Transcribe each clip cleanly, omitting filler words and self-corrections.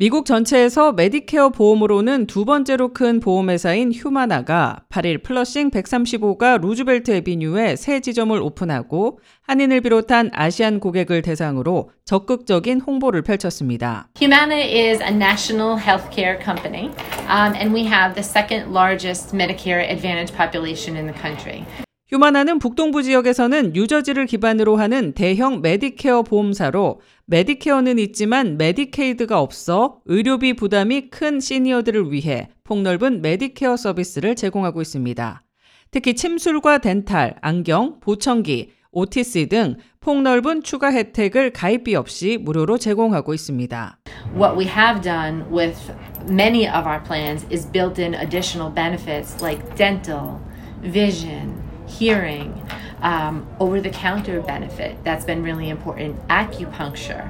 미국 전체에서 메디케어 보험으로는 두 번째로 큰 보험회사인 휴마나가 8일 플러싱 135가 루즈벨트 애비뉴에 새 지점을 오픈하고 한인을 비롯한 아시안 고객을 대상으로 적극적인 홍보를 펼쳤습니다. Humana is a national healthcare company, and we have the second largest Medicare Advantage population in the country. 휴마나는 북동부 지역에서는 뉴저지를 기반으로 하는 대형 메디케어 보험사로 메디케어는 있지만 메디케이드가 없어 의료비 부담이 큰 시니어들을 위해 폭넓은 메디케어 서비스를 제공하고 있습니다. 특히 침술과 덴탈, 안경, 보청기, OTC 등 폭넓은 추가 혜택을 가입비 없이 무료로 제공하고 있습니다. What we have done with many of our plans is built in additional benefits like dental, vision, hearing, over-the-counter benefit. That's been really important. Acupuncture,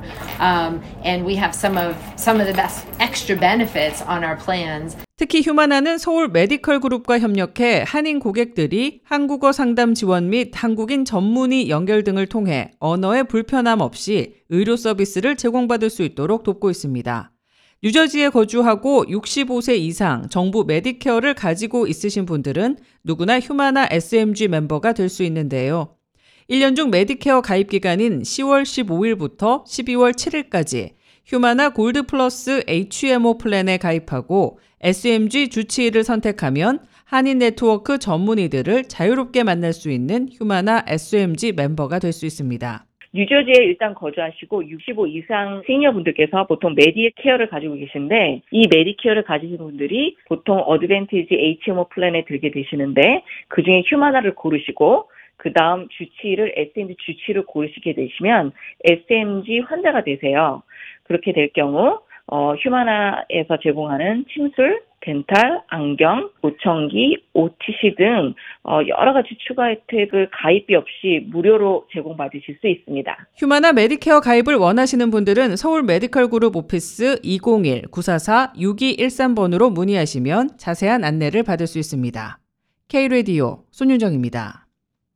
and we have some of the best extra benefits on our plans. 특히 휴마나는 서울 메디컬 그룹과 협력해 한인 고객들이 한국어 상담 지원 및 한국인 전문의 연결 등을 통해 언어의 불편함 없이 의료 서비스를 제공받을 수 있도록 돕고 있습니다. 뉴저지에 거주하고 65세 이상 정부 메디케어를 가지고 있으신 분들은 누구나 휴마나 SMG 멤버가 될 수 있는데요. 1년 중 메디케어 가입 기간인 10월 15일부터 12월 7일까지 휴마나 골드 플러스 HMO 플랜에 가입하고 SMG 주치의를 선택하면 한인 네트워크 전문의들을 자유롭게 만날 수 있는 휴마나 SMG 멤버가 될 수 있습니다. 뉴저지에 일단 거주하시고 65 이상 시니어분들께서 보통 메디케어를 가지고 계신데 이 메디케어를 가지신 분들이 보통 어드밴티지 HMO 플랜에 들게 되시는데 그중에 휴마나를 고르시고 그 다음 주치의를 SMG 주치의를 고르시게 되시면 SMG 환자가 되세요. 그렇게 될 경우 휴마나에서 제공하는 침술, 덴탈, 안경, 보청기, OTC 등 여러 가지 추가 혜택을 가입비 없이 무료로 제공받으실 수 있습니다. 휴마나 메디케어 가입을 원하시는 분들은 서울 메디컬 그룹 오피스 201-944-6213번으로 문의하시면 자세한 안내를 받을 수 있습니다. K-라디오 손윤정입니다.